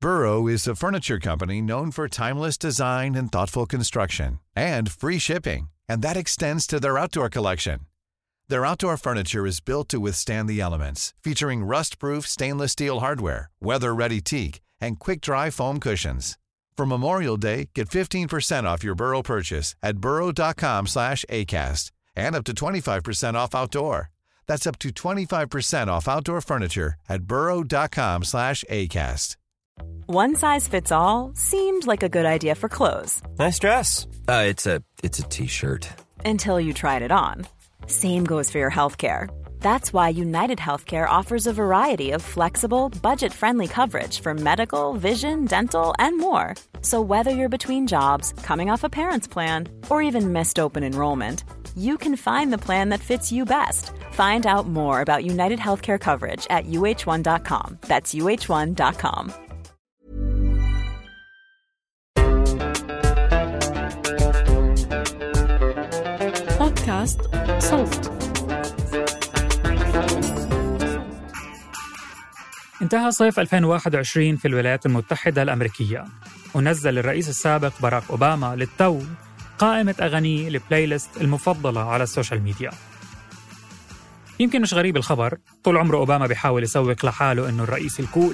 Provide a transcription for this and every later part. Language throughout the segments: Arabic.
Burrow is a furniture company known for timeless design and thoughtful construction, and free shipping, and that extends to their outdoor collection. Their outdoor furniture is built to withstand the elements, featuring rust-proof stainless steel hardware, weather-ready teak, and quick-dry foam cushions. For Memorial Day, get 15% off your Burrow purchase at burrow.com/acast, and up to 25% off outdoor. That's up to 25% off outdoor furniture at burrow.com/acast. One size fits all seemed like a good idea for clothes. Nice dress. It's a t-shirt. Until you tried it on. Same goes for your healthcare. That's why United Healthcare offers a variety of flexible, budget-friendly coverage for medical, vision, dental, and more. So whether you're between jobs, coming off a parent's plan, or even missed open enrollment, you can find the plan that fits you best. Find out more about United Healthcare coverage at uh1.com. That's uh1.com. بودكاست صوت. انتهى صيف 2021 في الولايات المتحدة الأمريكية، ونزل الرئيس السابق باراك أوباما للتو قائمة أغاني البلاي ليست المفضلة على السوشيال ميديا. يمكن مش غريب الخبر، طول عمره أوباما بيحاول يسوق لحاله إنه الرئيس الكول.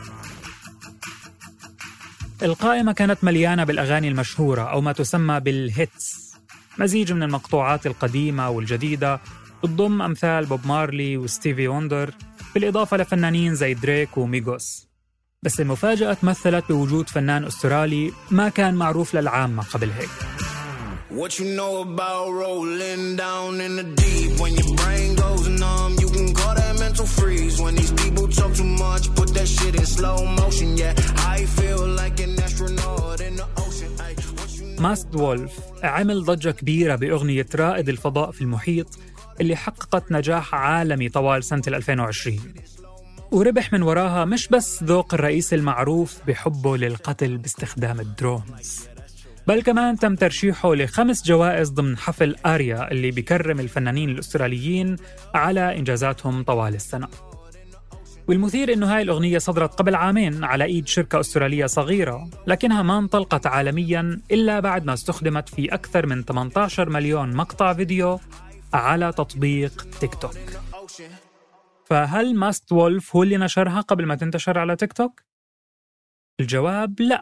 القائمة كانت مليانة بالأغاني المشهورة أو ما تسمى بالهيتس، مزيج من المقطوعات القديمة والجديدة، تضم أمثال بوب مارلي وستيفي وندر، بالإضافة لفنانين زي دريك وميغوس. بس المفاجأة تمثلت بوجود فنان أسترالي ما كان معروف للعامة قبل هيك. What you know about rolling down in the deep when your brain goes numb you can call that mental freeze when these people talk too much put that shit in slow motion yeah I feel like an astronaut in the ocean ماستد وولف عمل ضجة كبيرة بأغنية رائد الفضاء في المحيط اللي حققت نجاح عالمي طوال سنة 2020 وربح من وراها مش بس ذوق الرئيس المعروف بحبه للقتل باستخدام الدرونز، بل كمان تم ترشيحه ل5 جوائز ضمن حفل آريا اللي بيكرم الفنانين الأستراليين على إنجازاتهم طوال السنة. والمثير إنه هاي الأغنية صدرت قبل عامين على إيد شركة أسترالية صغيرة، لكنها ما انطلقت عالمياً إلا بعد ما استخدمت في أكثر من 18 مليون مقطع فيديو على تطبيق تيك توك. فهل ماست وولف هو اللي نشرها قبل ما تنتشر على تيك توك؟ الجواب لا.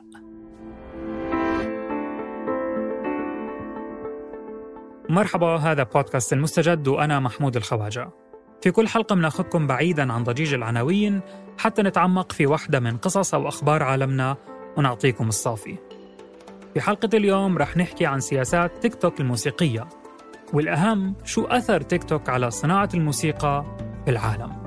مرحبا، هذا بودكاست المستجد وأنا محمود الخواجة. في كل حلقة بناخدكم بعيداً عن ضجيج العناوين حتى نتعمق في واحدة من قصص أو أخبار عالمنا ونعطيكم الصافي. في حلقة اليوم رح نحكي عن سياسات تيك توك الموسيقية، والأهم شو أثر تيك توك على صناعة الموسيقى في العالم.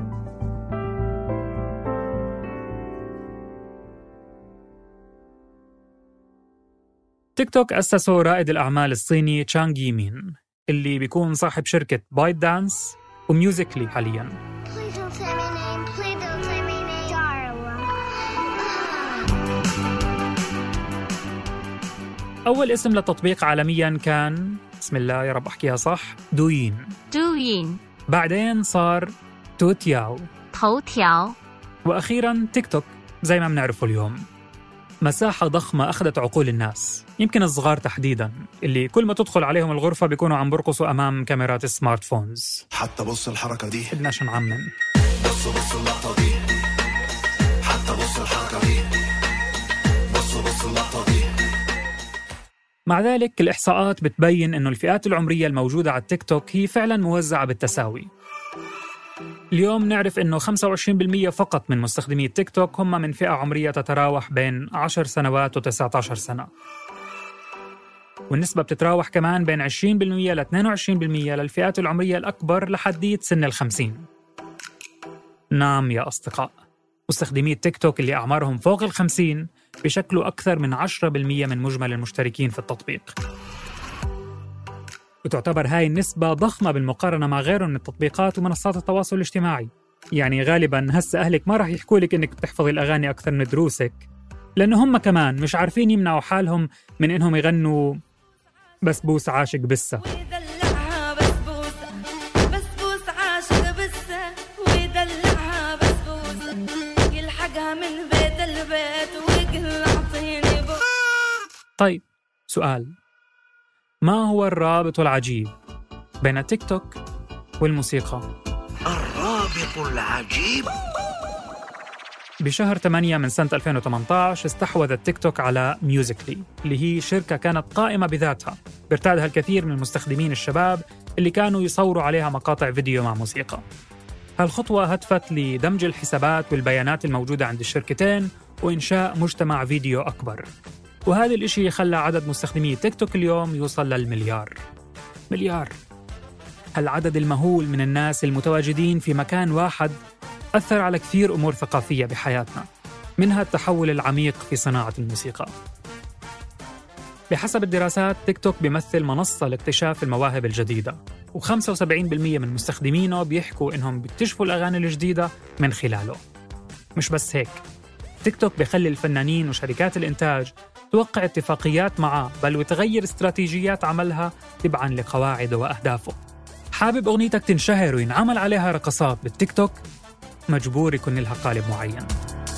تيك توك أسسه رائد الأعمال الصيني تشانغ يمين اللي بيكون صاحب شركة بايت دانس وميوزيكلي حالياً. أول اسم للتطبيق عالمياً كان، بسم الله يا رب أحكيها صح، دوين. بعدين صار توتياو، وأخيراً تيك توك زي ما بنعرفه اليوم. مساحة ضخمة أخذت عقول الناس، يمكن الصغار تحديداً، اللي كل ما تدخل عليهم الغرفة بيكونوا عم برقصوا أمام كاميرات السمارت فونز. حتى بص الحركة دي، بدناش نعمم. بص اللقطة دي، حتى بص الحركة دي، بص اللقطة دي. مع ذلك الإحصاءات بتبين إنه الفئات العمرية الموجودة على التيك توك هي فعلاً موزعة بالتساوي. اليوم نعرف إنه 25% فقط من مستخدمي التيك توك هم من فئة عمرية تتراوح بين 10 سنوات و19 سنة، والنسبة بتتراوح كمان بين 20% ل 22% للفئات العمرية الأكبر لحديت سن 50. نعم يا أصدقاء، مستخدمي التيك توك اللي أعمارهم فوق 50 بشكلوا أكثر من 10% من مجمل المشتركين في التطبيق، وتعتبر هاي النسبة ضخمة بالمقارنة مع غيره من التطبيقات ومنصات التواصل الاجتماعي. يعني غالباً هسه أهلك ما رح يحكوا لك إنك بتحفظي الأغاني أكثر من دروسك، لأنه هم كمان مش عارفين يمنعوا حالهم من إنهم يغنوا بسبوس عاشق بسة. ويدلعها بسبوسة يلحقها من بيت البيت طيب، سؤال: ما هو الرابط العجيب بين تيك توك والموسيقى؟ الرابط العجيب. بشهر 8 من سنة 2018 استحوذت تيك توك على ميوزيكلي، اللي هي شركة كانت قائمة بذاتها بيرتادها الكثير من المستخدمين الشباب اللي كانوا يصوروا عليها مقاطع فيديو مع موسيقى. هالخطوة هدفت لدمج الحسابات والبيانات الموجودة عند الشركتين وإنشاء مجتمع فيديو أكبر، وهذا الإشي خلى عدد مستخدمي تيك توك اليوم يوصل للمليار. مليار! هالعدد المهول من الناس المتواجدين في مكان واحد أثر على كثير أمور ثقافية بحياتنا، منها التحول العميق في صناعة الموسيقى. بحسب الدراسات، تيك توك بيمثل منصة لاكتشاف المواهب الجديدة، و75% من مستخدمينه بيحكوا إنهم بيكتشفوا الأغاني الجديدة من خلاله. مش بس هيك، تيك توك بيخلي الفنانين وشركات الإنتاج توقع اتفاقيات معه، بل وتغير استراتيجيات عملها تبعاً لقواعده وأهدافه. حابب أغنيتك تنشهر وينعمل عليها رقصات بالتيك توك؟ مجبور يكون لها قالب معين.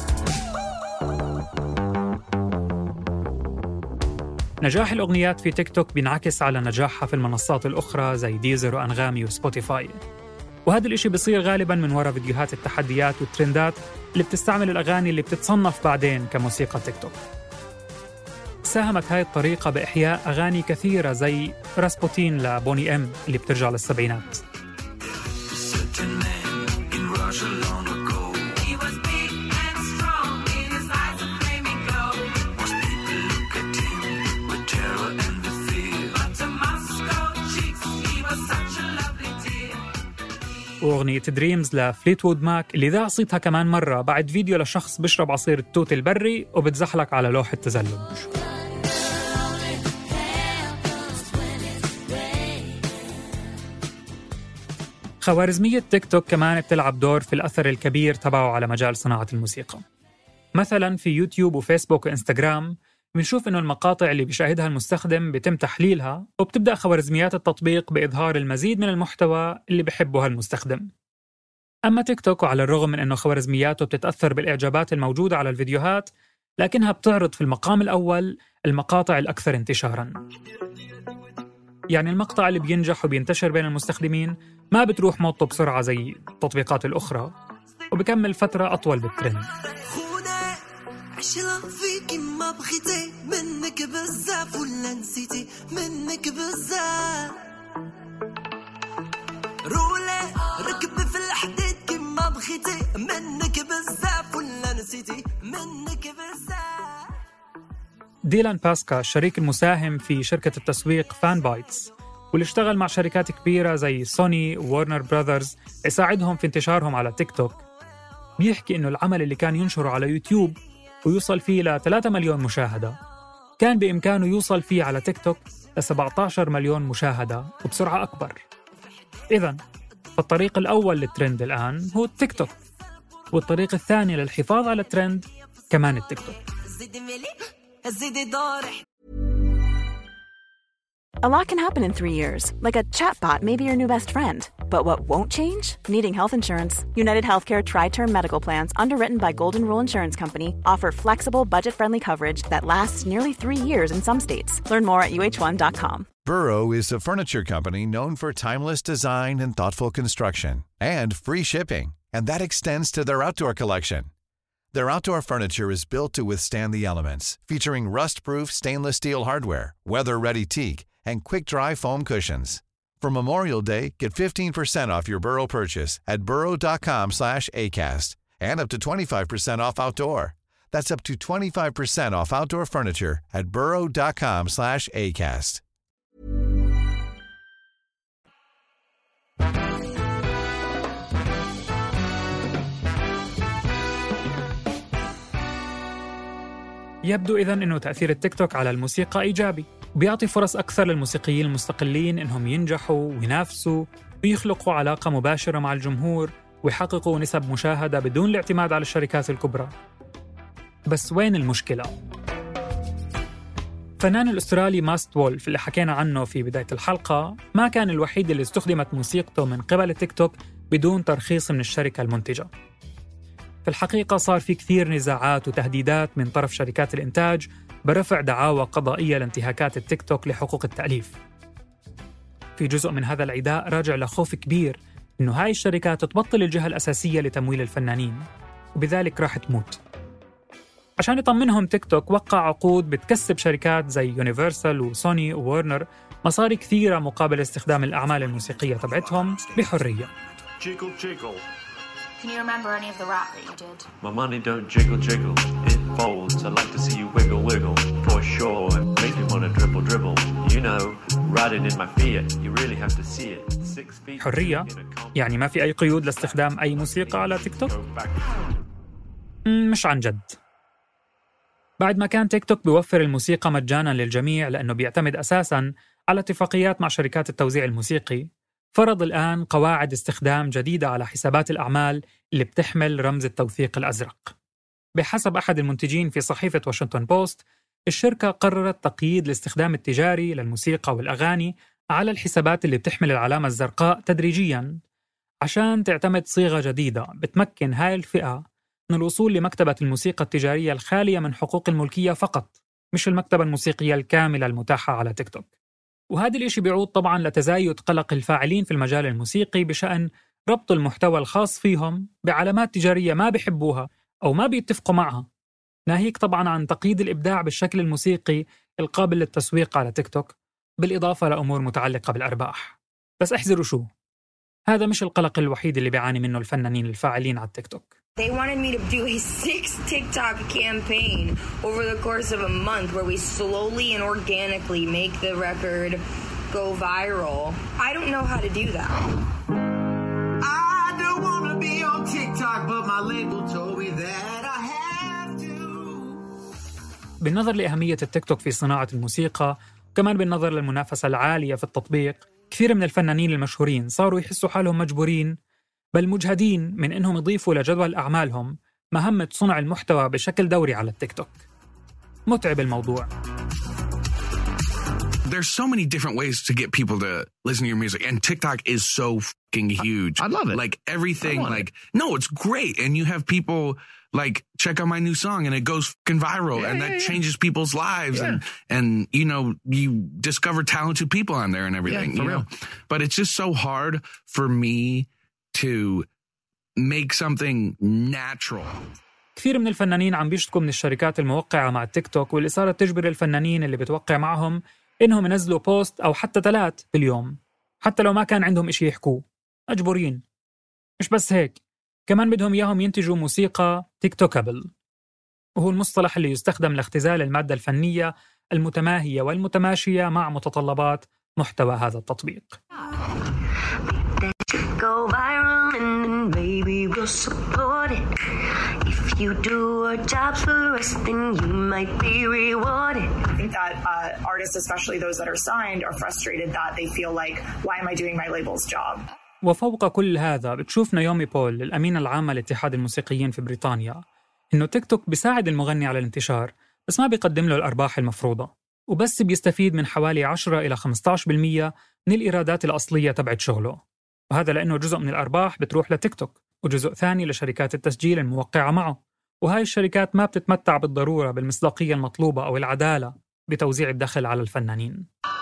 نجاح الأغنيات في تيك توك بينعكس على نجاحها في المنصات الأخرى زي ديزر وأنغامي وسبوتيفاي، وهذا الإشي بيصير غالباً من وراء فيديوهات التحديات والترندات اللي بتستعمل الأغاني اللي بتتصنف بعدين كموسيقى تيك توك. ساهمت هاي الطريقة بإحياء أغاني كثيرة زي راسبوتين لبوني إم اللي بترجع للسبعينات. وأغنية دريمز لفليتوود ماك اللي ذاع صيتها كمان مرة بعد فيديو لشخص بيشرب عصير التوت البري وبتزحلق على لوح التزلج. خوارزمية تيك توك كمان بتلعب دور في الأثر الكبير تبعه على مجال صناعة الموسيقى. مثلاً في يوتيوب وفيسبوك وإنستغرام بنشوف إنه المقاطع اللي بيشاهدها المستخدم بيتم تحليلها، وبتبدأ خوارزميات التطبيق بإظهار المزيد من المحتوى اللي بيحبه المستخدم. أما تيك توك، وعلى الرغم من إنه خوارزمياته بتتأثر بالإعجابات الموجودة على الفيديوهات، لكنها بتعرض في المقام الأول المقاطع الأكثر انتشاراً. يعني المقطع اللي بينجح وبينتشر بين المستخدمين ما بتروح موضته بسرعة زي التطبيقات الأخرى، وبكمل فترة أطول بالترند. عشرة فيكي ما بغيتي منك بزاف ولا نسيتي منك بزاف، رولي ركبي في الحديد كيما بغيتي منك بزاف ولا نسيتي منك بزاف. ديلان باسكا الشريك المساهم في شركة التسويق فان بايتس، واللي اشتغل مع شركات كبيرة زي سوني وورنر براذرز يساعدهم في انتشارهم على تيك توك، بيحكي إنه العمل اللي كان ينشره على يوتيوب ويوصل فيه ل 3 مليون مشاهدة كان بإمكانه يوصل فيه على تيك توك ل 17 مليون مشاهدة وبسرعة أكبر. إذن فالطريق الأول للترند الآن هو التيك توك، والطريق الثاني للحفاظ على الترند كمان التيك توك. A lot can happen in 3 years, like a chatbot may be your new best friend. But what won't change? Needing health insurance. United Healthcare Tri-Term Medical Plans, underwritten by Golden Rule Insurance Company, offer flexible, budget-friendly coverage that lasts nearly 3 years in some states. Learn more at uh1.com. Burrow is a furniture company known for timeless design and thoughtful construction, and free shipping, and that extends to their outdoor collection. Their outdoor furniture is built to withstand the elements, featuring rust-proof stainless steel hardware, weather-ready teak, and quick-dry foam cushions. For Memorial Day, get 15% off your Burrow purchase at burrow.com/acast, and up to 25% off outdoor. That's up to 25% off outdoor furniture at burrow.com/acast. يبدو إذن أنه تأثير التيك توك على الموسيقى إيجابي، وبيعطي فرص أكثر للموسيقيين المستقلين إنهم ينجحوا وينافسوا ويخلقوا علاقة مباشرة مع الجمهور ويحققوا نسب مشاهدة بدون الاعتماد على الشركات الكبرى. بس وين المشكلة؟ الفنان الأسترالي ماست وولف اللي حكينا عنه في بداية الحلقة ما كان الوحيد اللي استخدمت موسيقته من قبل التيك توك بدون ترخيص من الشركة المنتجة. في الحقيقة صار في كثير نزاعات وتهديدات من طرف شركات الإنتاج برفع دعاوى قضائية لانتهاكات التيك توك لحقوق التأليف. في جزء من هذا العداء راجع لخوف كبير إنه هاي الشركات تبطل الجهة الأساسية لتمويل الفنانين وبذلك راح تموت. عشان يطمنهم تيك توك وقع عقود بتكسب شركات زي يونيفرسال وسوني وورنر مصاري كثيرة مقابل استخدام الأعمال الموسيقية تبعتهم بحرية. Can you remember any of the rap that you did? My money don't jiggle jiggle, it folds. I like to see you wiggle wiggle, for sure. Make me wanna dribble dribble. You know, riding in my Fiat, you really have to see it. 6 feet. حرية؟ يعني ما في أي قيود لاستخدام أي موسيقى على تيك توك؟ مش عن جد. بعد ما كان تيك توك بيوفر الموسيقى مجاناً للجميع لأنه بيعتمد أساساً على اتفاقيات مع شركات التوزيع الموسيقي، فرض الآن قواعد استخدام جديدة على حسابات الأعمال اللي بتحمل رمز التوثيق الأزرق. بحسب أحد المنتجين في صحيفة واشنطن بوست، الشركة قررت تقييد الاستخدام التجاري للموسيقى والأغاني على الحسابات اللي بتحمل العلامة الزرقاء تدريجياً عشان تعتمد صيغة جديدة بتمكن هاي الفئة من الوصول لمكتبة الموسيقى التجارية الخالية من حقوق الملكية فقط، مش المكتبة الموسيقية الكاملة المتاحة على تيك توك. وهذا الإشي بيعود طبعاً لتزايد قلق الفاعلين في المجال الموسيقي بشأن ربط المحتوى الخاص فيهم بعلامات تجارية ما بيحبوها أو ما بيتفقوا معها، ناهيك طبعاً عن تقييد الإبداع بالشكل الموسيقي القابل للتسويق على تيك توك، بالإضافة لأمور متعلقة بالأرباح. بس احذروا شو، هذا مش القلق الوحيد اللي بيعاني منه الفنانين الفاعلين على التيك توك. They wanted me to do a 6 TikTok campaign over the course of a month where we slowly and organically make the record go viral. I don't know how to do that. I don't want to be on TikTok, but my label told me that I have to. بالنظر لأهمية التيك توك في صناعة الموسيقى، وكمان بالنظر للمنافسة العالية في التطبيق، كثير من الفنانين المشهورين صاروا يحسوا حالهم مجبورين بل مجهدين من إنهم يضيفوا لجدول أعمالهم مهمة صنع المحتوى بشكل دوري على التيك توك. متعب الموضوع. There's so many different ways to get people to listen to your music, and TikTok is so fucking huge. I love it. Like everything, no, it's great. And you have people like, check out my new song, and it goes fucking viral, and that changes people's lives. And you know, you discover talented people on there and everything. For real. But it's just so hard for me to make something natural. كثير من الفنانين عم بيشتكوا من الشركات الموقعة مع التيك توك واللي صارت تجبر الفنانين اللي بتوقع معهم إنهم ينزلوا بوست أو حتى 3 باليوم، حتى لو ما كان عندهم إشي يحكوه، مجبورين. مش بس هيك، كمان بدهم إياهم ينتجوا موسيقى تيك توكابل، وهو المصطلح اللي يستخدم لاختزال المادة الفنية المتماهية والمتماشية مع متطلبات محتوى هذا التطبيق. Go viral and baby we'll support it. If you do our jobs for us, then you might be rewarded. I think that artists, especially those that are signed, are frustrated that they feel like, why am I doing my label's job? وفوق كل هذا بتشوف نايومي بول الأمينة العامة لاتحاد الموسيقيين في بريطانيا إنه تيك توك بيساعد المغني على الانتشار بس ما بيقدم له الأرباح المفروضة، وبس بيستفيد من حوالي 10 إلى 15% من الإيرادات الأصلية تبعت شغله، وهذا لأنه جزء من الأرباح بتروح لتيك توك وجزء ثاني لشركات التسجيل الموقعة معه، وهاي الشركات ما بتتمتع بالضرورة بالمصداقية المطلوبة أو العدالة بتوزيع الدخل على الفنانين.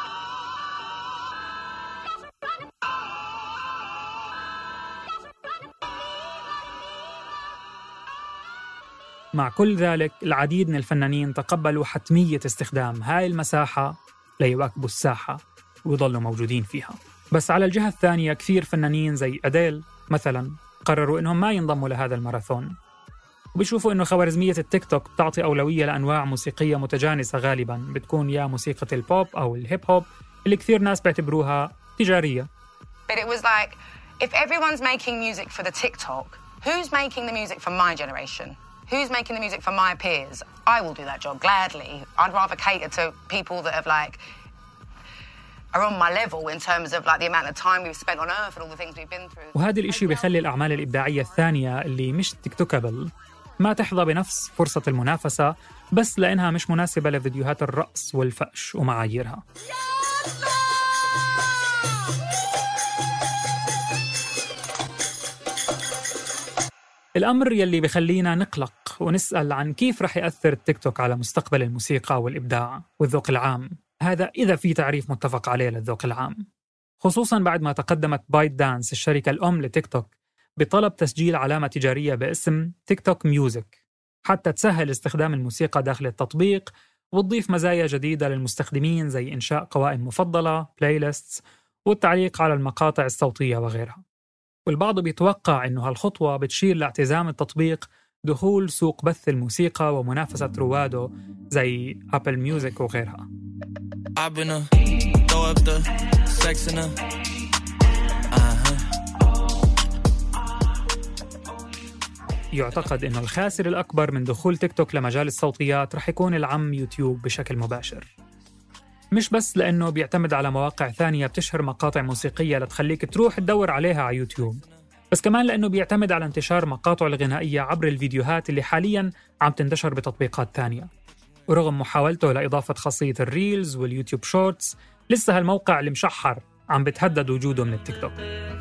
مع كل ذلك العديد من الفنانين تقبلوا حتمية استخدام هاي المساحة ليواكبوا الساحة ويضلوا موجودين فيها. بس على الجهة الثانية كثير فنانين زي أديل مثلا قرروا إنهم ما ينضموا لهذا الماراثون، وبيشوفوا إنه خوارزمية التيك توك بتعطي أولوية لأنواع موسيقية متجانسة غالباً بتكون يا موسيقى البوب أو الهيب هوب اللي كثير ناس بيعتبروها تجارية. But it was like, if everyone's making music for the TikTok, who's making the music for my generation? Who's making the music for my peers? I will do that job gladly. I'd rather cater to people that have like are on my level in terms of like the amount of time we've spent on earth and all the things we've been through. وهذا الإشي بيخلي الأعمال الإبداعية الثانية اللي مش تيك توكابل ما تحظى بنفس فرصة المنافسة بس لأنها مش مناسبة لفيديوهات الرقص والفأش ومعاييرها. الأمر يلي بخلينا نقلق ونسأل عن كيف رح يأثر التيك توك على مستقبل الموسيقى والإبداع والذوق العام، هذا إذا في تعريف متفق عليه للذوق العام، خصوصاً بعد ما تقدمت بايت دانس الشركة الأم لتيك توك بطلب تسجيل علامة تجارية باسم تيك توك ميوزك حتى تسهل استخدام الموسيقى داخل التطبيق وتضيف مزايا جديدة للمستخدمين زي إنشاء قوائم مفضلة، بلاي ليستس، والتعليق على المقاطع الصوتية وغيرها. والبعض بيتوقع إنه هالخطوة بتشير لاعتزام التطبيق دخول سوق بث الموسيقى ومنافسة رواده زي أبل ميوزك وغيرها. يعتقد إنه الخاسر الأكبر من دخول تيك توك لمجال الصوتيات رح يكون العم يوتيوب بشكل مباشر، مش بس لأنه بيعتمد على مواقع ثانية بتشهر مقاطع موسيقية لتخليك تروح تدور عليها على يوتيوب، بس كمان لأنه بيعتمد على انتشار مقاطع الغنائية عبر الفيديوهات اللي حالياً عم تنتشر بتطبيقات تانية. ورغم محاولته لإضافة خاصية الريلز واليوتيوب شورتس، لسه هالموقع المشحر عم بتهدد وجوده من التيك توك.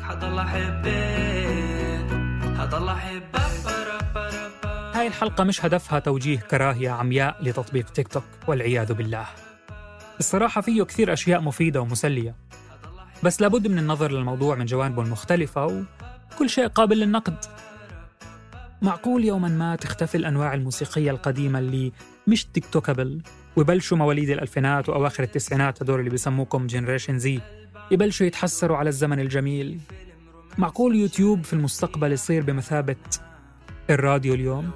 هاي الحلقة مش هدفها توجيه كراهية عمياء لتطبيق تيك توك والعياذ بالله. الصراحة فيه كثير أشياء مفيدة ومسلية، بس لابد من النظر للموضوع من جوانبه المختلفة وكل شيء قابل للنقد. معقول يوماً ما تختفي الأنواع الموسيقية القديمة اللي مش تيك توكابل ويبلشوا مواليد الألفينات وأواخر التسعينات هدول اللي بيسموكم جنريشن زي يبلشوا يتحسروا على الزمن الجميل؟ معقول يوتيوب في المستقبل يصير بمثابة الراديو اليوم؟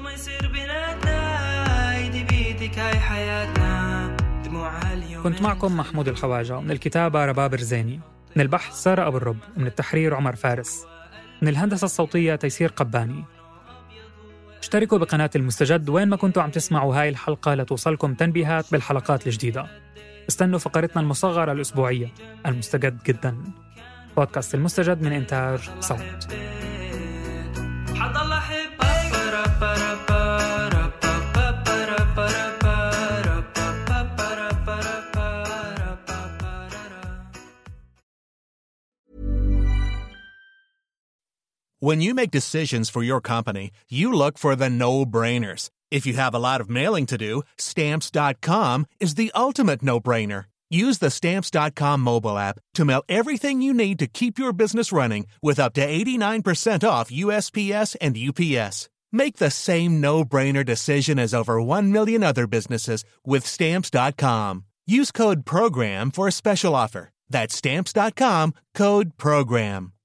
كنت معكم محمود الخواجة، من الكتابة رباب رزيني، من البحث سارة أبو الرب، من التحرير عمر فارس، من الهندسة الصوتية تيسير قباني. اشتركوا بقناة المستجد وين ما كنتوا عم تسمعوا هاي الحلقة لتوصلكم تنبيهات بالحلقات الجديدة. استنوا فقرتنا المصغرة الأسبوعية المستجد جدا، بودكاست المستجد من إنتاج صوت. When you make decisions for your company, you look for the no-brainers. If you have a lot of mailing to do, Stamps.com is the ultimate no-brainer. Use the Stamps.com mobile app to mail everything you need to keep your business running with up to 89% off USPS and UPS. Make the same no-brainer decision as over 1 million other businesses with Stamps.com. Use code PROGRAM for a special offer. That's Stamps.com, code PROGRAM.